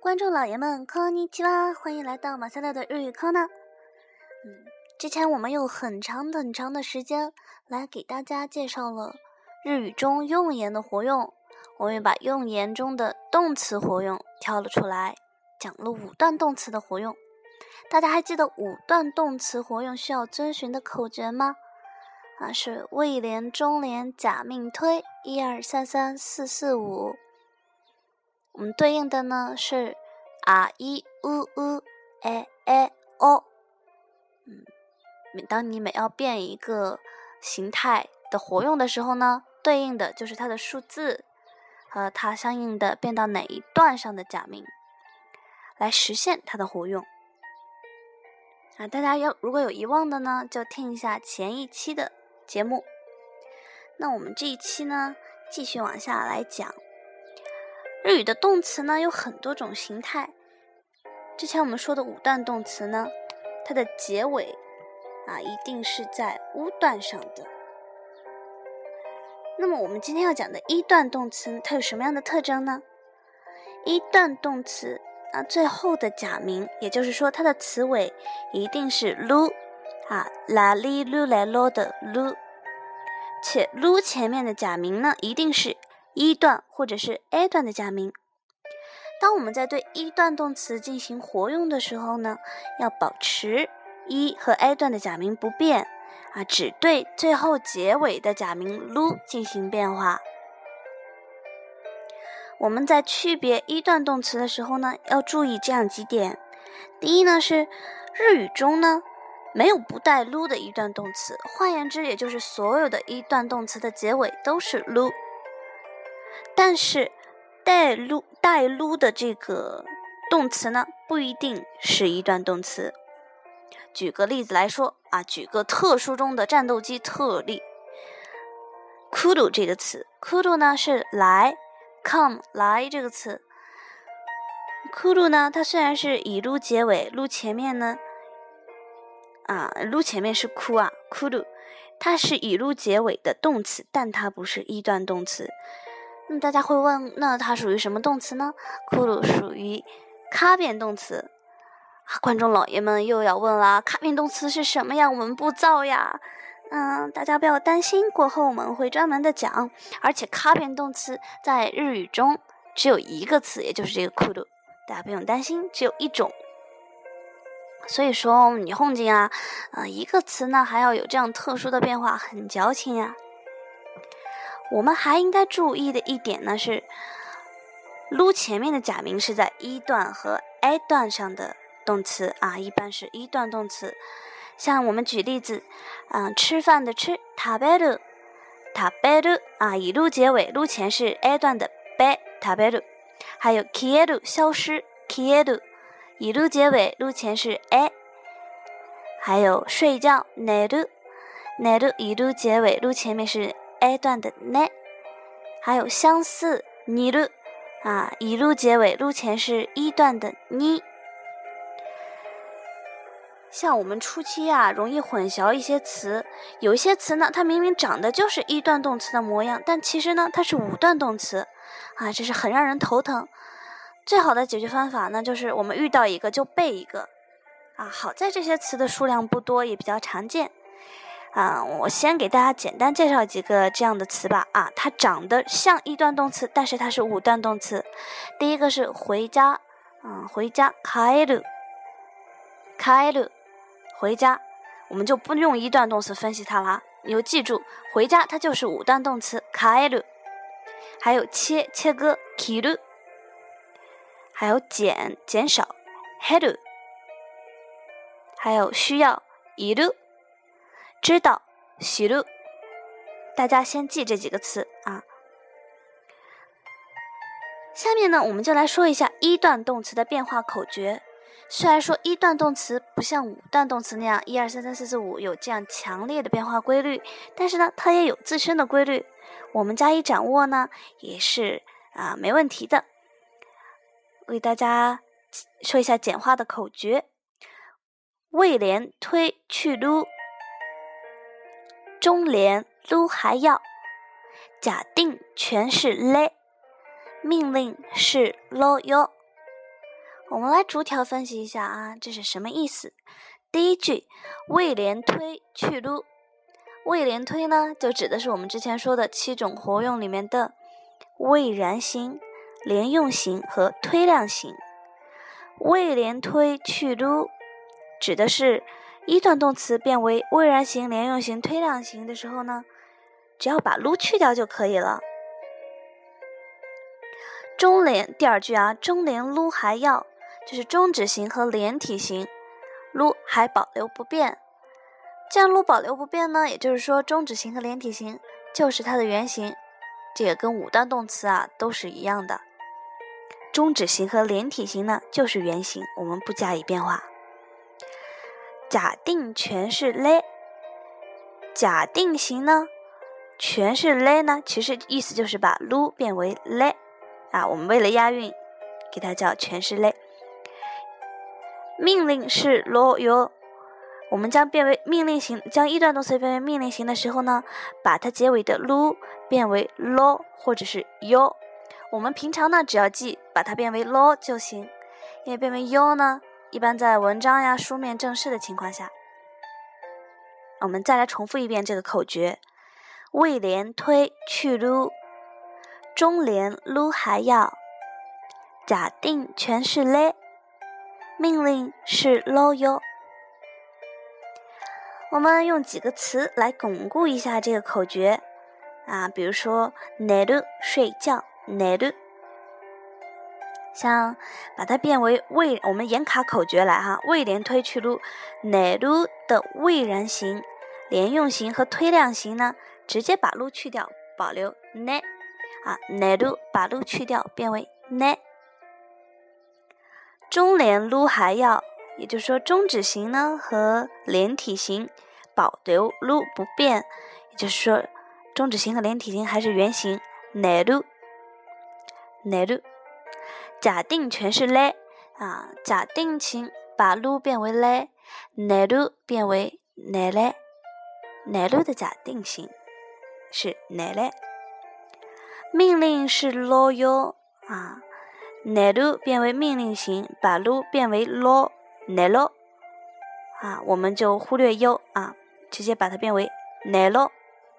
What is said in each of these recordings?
观众老爷们，こんにちは，欢迎来到马赛乐的日语课呢。之前我们用很长的时间来给大家介绍了日语中用言的活用，我们也把用言中的动词活用挑了出来，讲了五段动词的活用。大家还记得五段动词活用需要遵循的口诀吗？是谓连、中连、假命推，1、2、3、3、4、4、5。我们对应的呢是い、う、お。当你每要变一个形态的活用的时候呢，对应的就是它的数字和它相应的变到哪一段上的假名，来实现它的活用。大家如果有遗忘的呢，就听一下前一期的节目。那我们这一期呢，继续往下来讲。日语的动词呢有很多种形态，之前我们说的五段动词呢，它的结尾一定是在乌段上的。那么我们今天要讲的一段动词，它有什么样的特征呢？一段动词最后的假名，也就是说它的词尾一定是噜拉哩噜来咯的噜，且噜前面的假名呢一定是一段或者是 A 段的假名。当我们在对一段动词进行活用的时候呢，要保持一和 A 段的假名不变只对最后结尾的假名噜进行变化。我们在区别一段动词的时候呢，要注意这样几点。第一呢是日语中呢没有不带噜的一段动词，换言之，也就是所有的一段动词的结尾都是噜。但是带噜的这个动词呢，不一定是一段动词。举个例子来说举个特殊中的战斗机特例，来る这个词，来る呢是来 come 来这个词，来る呢它虽然是以噜结尾，噜前面呢噜前面是哭来る，它是以噜结尾的动词，但它不是一段动词。那么大家会问，那它属于什么动词呢？来る属于卡变动词。观众老爷们又要问了，卡变动词是什么呀？我们不造呀。大家不要担心，过后我们会专门的讲。而且卡变动词在日语中只有一个词，也就是这个来る，大家不用担心，只有一种。所以说你honjin一个词呢还要有这样特殊的变化，很矫情呀。我们还应该注意的一点呢是，噜前面的假名是在一段和 A 段上的动词一般是一段动词。像我们举例子，吃饭的吃食べる以噜结尾，噜前是 A 段的べ食べる。还有消える消失消える，以噜结尾，噜前是 A。还有睡觉寝る以噜结尾，噜前面是 A 段的ね。还有相似似る以噜结尾，噜前是一段的に。像我们初期容易混淆一些词，有一些词呢它明明长得就是一段动词的模样，但其实呢它是五段动词这是很让人头疼。最好的解决方法呢就是我们遇到一个就背一个好在这些词的数量不多，也比较常见我先给大家简单介绍几个这样的词吧它长得像一段动词，但是它是五段动词。第一个是回家回家帰る回家，我们就不用一段动词分析它了，你就记住回家它就是五段动词帰る。还有切割切る，还有减少減る，还有需要いる，知道知る。大家先记这几个词下面呢我们就来说一下一段动词的变化口诀。虽然说一段动词不像五段动词那样1、2、3、3、4、4、5有这样强烈的变化规律，但是呢它也有自身的规律，我们加以掌握呢也是没问题的。我给大家说一下简化的口诀：谓连推去噜，中连噜还要，假定全是嘞，命令是咯哟。 我们来逐条分析一下啊，这是什么意思？第一句，谓连推去撸。谓连推呢，就指的是我们之前说的7种活用里面的谓然型、连用型和推量型。谓连推去撸指的是一段动词变为谓然型、连用型、推量型的时候呢，只要把撸去掉就可以了。中连第二句啊，中连撸还要，就是中指型和连体型，撸还保留不变。这样撸保留不变呢，也就是说中指型和连体型就是它的原型，这个跟五段动词啊都是一样的。中指型和连体型呢就是原型，我们不加以变化。假定全是嘞，假定型呢全是嘞呢，其实意思就是把撸变为嘞啊，我们为了押韵给它叫全是嘞。命令是咯哟，我们将变为命令型，将一段动词变为命令型的时候呢，把它结尾的撸变为咯或者是哟。我们平常呢只要记把它变为咯就行，因为变为哟呢一般在文章呀、书面正式的情况下。我们再来重复一遍这个口诀：谓连推去撸，中连撸还要，假定全是嘞，命令是咯哟。我们用几个词来巩固一下这个口诀啊，比如说寝る睡觉，寝る，像把它变为谓，我们严卡口诀来哈，谓连推去撸，寝る的谓然型、连用型和推量型呢，直接把撸去掉，保留ね啊，寝る把撸去掉，变为ね。中连撸还要，也就是说中指型呢和连体型保留撸不变，也就是说中指型和连体型还是原型寝る。寝る。假定全是嘞啊，假定型把撸变为嘞，寝る变为寝れ。寝る的假定型是寝れ。命令是咯哟啊，寝る变为命令型，把撸变为咯，寝ろ啊，我们就忽略哟啊，直接把它变为寝ろ。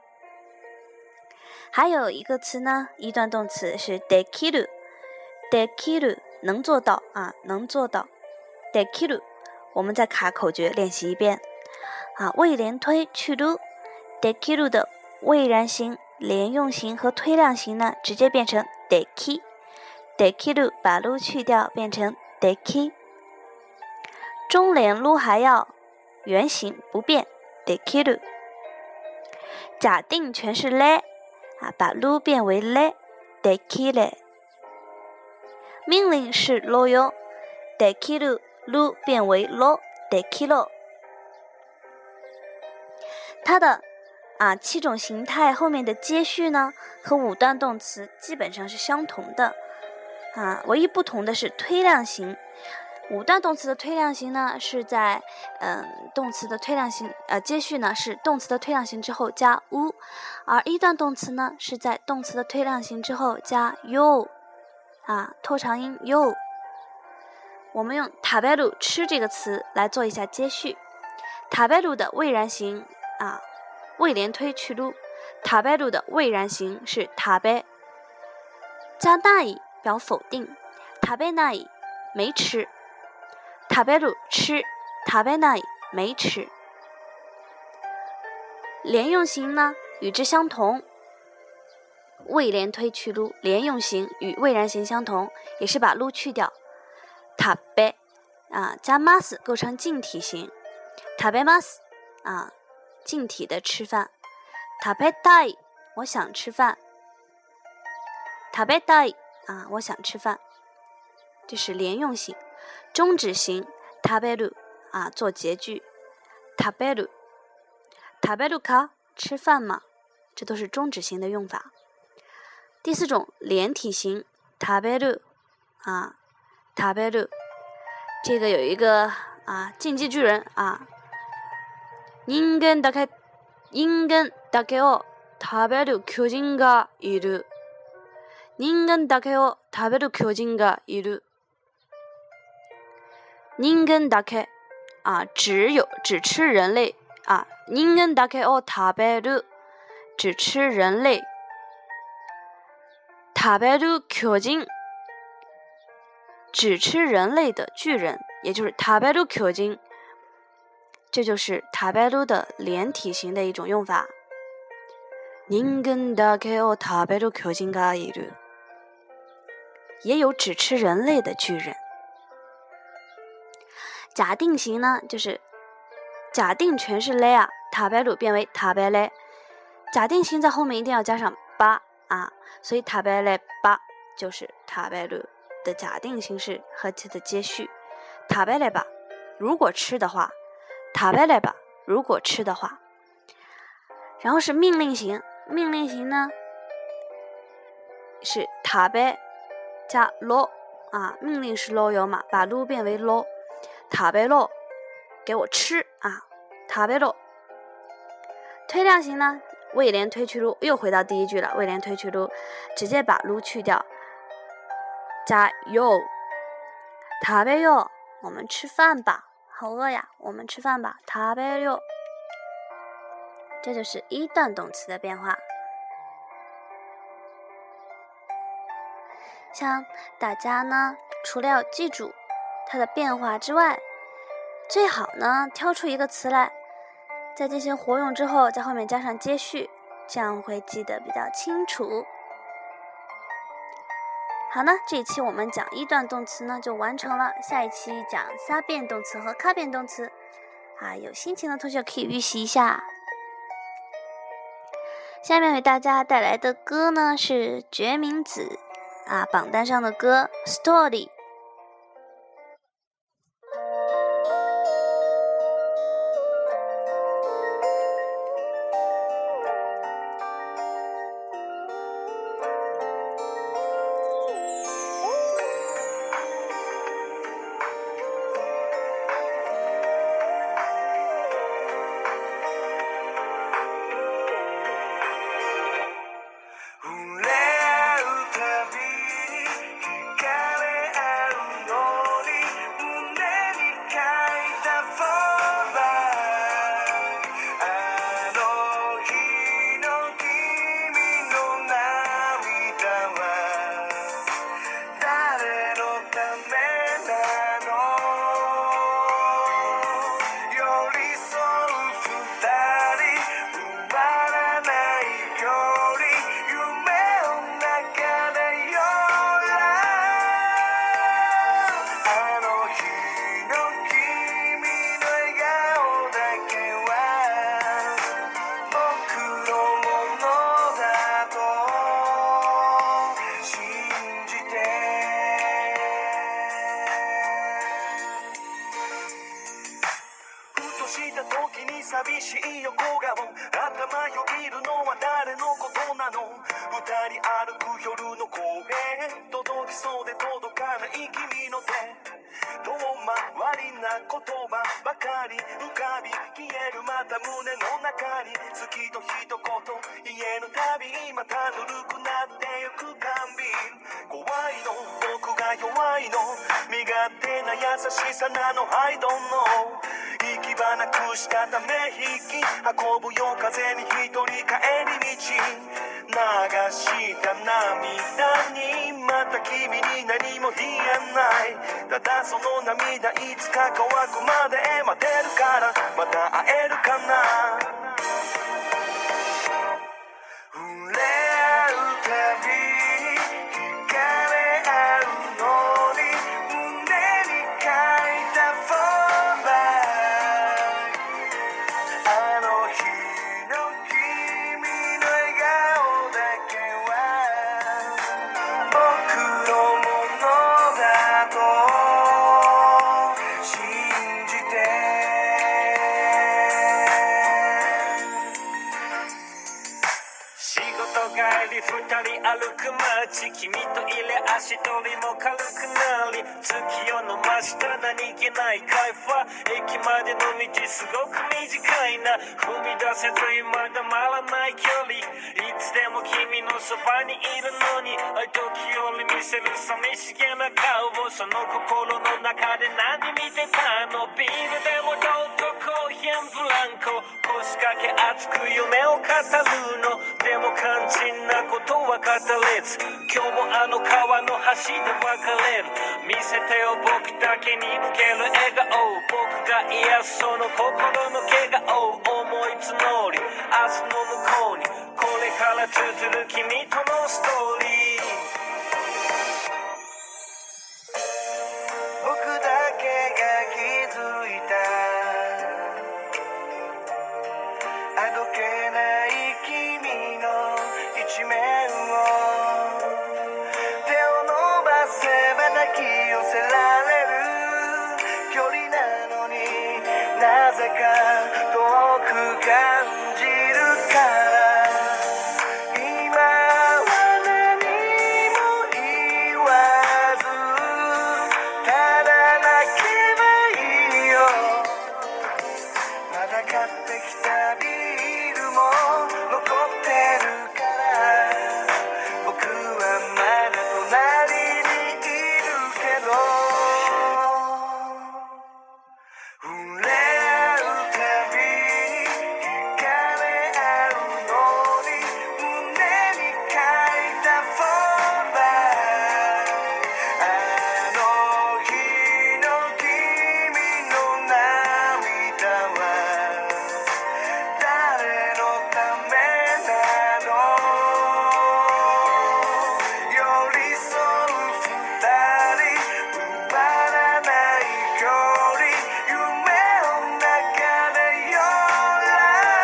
还有一个词呢，一段动词是できる，できる能做到啊，能做到。できる，我们再卡口诀练习一遍啊，谓连推去撸，できる的谓然型、连用型和推量型呢，直接变成でき。できる把撸去掉，变成でき。中连撸还要，原型不变，できる。假定全是嘞啊，把撸变为嘞，できれ。命令是咯哟，できる撸变为咯，できろ。它的7种形态后面的接续呢，和五段动词基本上是相同的唯一不同的是推量型。五段动词的推量型呢，是在动词的推量型接续呢是动词的推量型之后加 u， 而一段动词呢是在动词的推量型之后加 yo 拖长音 yo。我们用食べる吃这个词来做一下接续。食べる的谓然型谓连推去撸，食べる的谓然型是食べ，加ない表否定，食べない没吃，食べる吃，食べない没吃。连用型呢与之相同，谓连推去撸，连用型与谓然型相同，也是把撸去掉，食べ加 mas 构成近体型，食べます近体的吃饭，食べたい我想吃饭，食べたい我想吃饭，这是连用型。中指型食べる做结句，食べる食べるか吃饭吗？这都是中指型的用法。第四种连体型食べる食べる，这个有一个进击巨人人間だけを食べる巨人がいる。人間だけを食べる巨人がいる。 人間だけ啊，只吃人类啊，人間だけを食べる，只吃人类。食べる巨人，只吃人类的巨人，也就是食べる巨人。这就是食べる的连体型的一种用法。人間だけを食べる巨人がいる，也有只吃人类的巨人。假定型呢，就是假定全是类啊，食べる变为食べれ。假定型在后面一定要加上ば啊，所以食べれば就是食べる的假定形式和其的接续。食べれば，如果吃的话；食べれば，如果吃的话。然后是命令型，命令型呢是食べ加ろ啊，命令是ろ有嘛，把ろ变为ろ。食べろ，给我吃啊！食べろ。推量型呢，谓连推去ろ，又回到第一句了。谓连推去ろ，直接把ろ去掉，加よ。食べよ，我们吃饭吧，好饿呀，我们吃饭吧。食べよ。这就是一段动词的变化。像大家呢，除了要记住它的变化之外，最好呢挑出一个词来，在进行活用之后，在后面加上接续，这样会记得比较清楚。好呢，这一期我们讲一段动词呢就完成了，下一期讲三变动词和卡变动词啊，有心情的同学可以预习一下。下面为大家带来的歌呢是决明子啊榜单上的歌 Story。 寂しい横顔頭よぎるのは誰のことなの二人歩く夜の公園届きそうで届かない君の手遠回りな言葉ばかり浮かび消えるまた胸の中に好きと一言言えぬたびまたぬるくなってゆく甘美怖いの僕が弱いの身勝手な優しさなの I don't know 行き場なくしたため息運ぶよ風に一人帰り道流した涙にまた君に何も言えないただその涙いつか乾くまで待てるからまた会えるかな触れ合うたび惹かれ合うのに胸に書いたフォーバーあの日の君の笑顔だけは僕のものだと信じて帰り二人歩く街君といれ足取りも軽くなり月夜の真下何気ない会話駅までの道すごく短いな踏み出せずまだまらない距離いつでも君のそばにいるのに時折見せる寂しげな顔をその心の中で何見てたのビールでもどうとコーヒーブランコ腰掛け熱く夢を語るのでも肝心なことは語れず今日もあの川の橋で別れる見せてよ僕だけに向ける笑顔僕が癒すその心の怪我を思い募り明日の向こうにこれから綴る君とのストーリー僕だけが気づいたあどけない君の一面を手を伸ばせば抱き寄せられる距離なのになぜか遠く感じるから今は何も言わずただ泣けばいいよまだ買ってきたビールも残ってるから僕はまだ隣にいるけど触れ合うたびに惹かれ合うのに胸に書いたフォーバーあの日の君の涙は誰のためなの寄り添う二人埋まらない距離夢の中でよら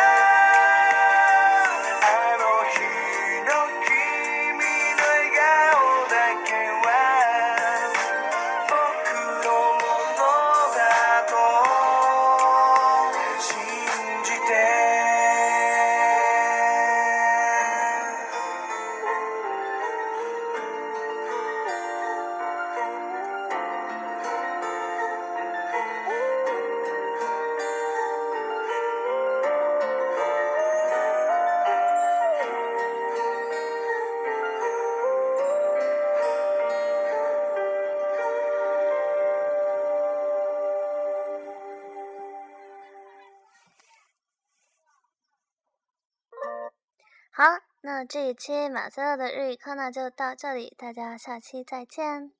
あの日の君の笑顔だけは僕のものだと信じて好，那这一期马赛克的日语课呢就到这里，大家下期再见。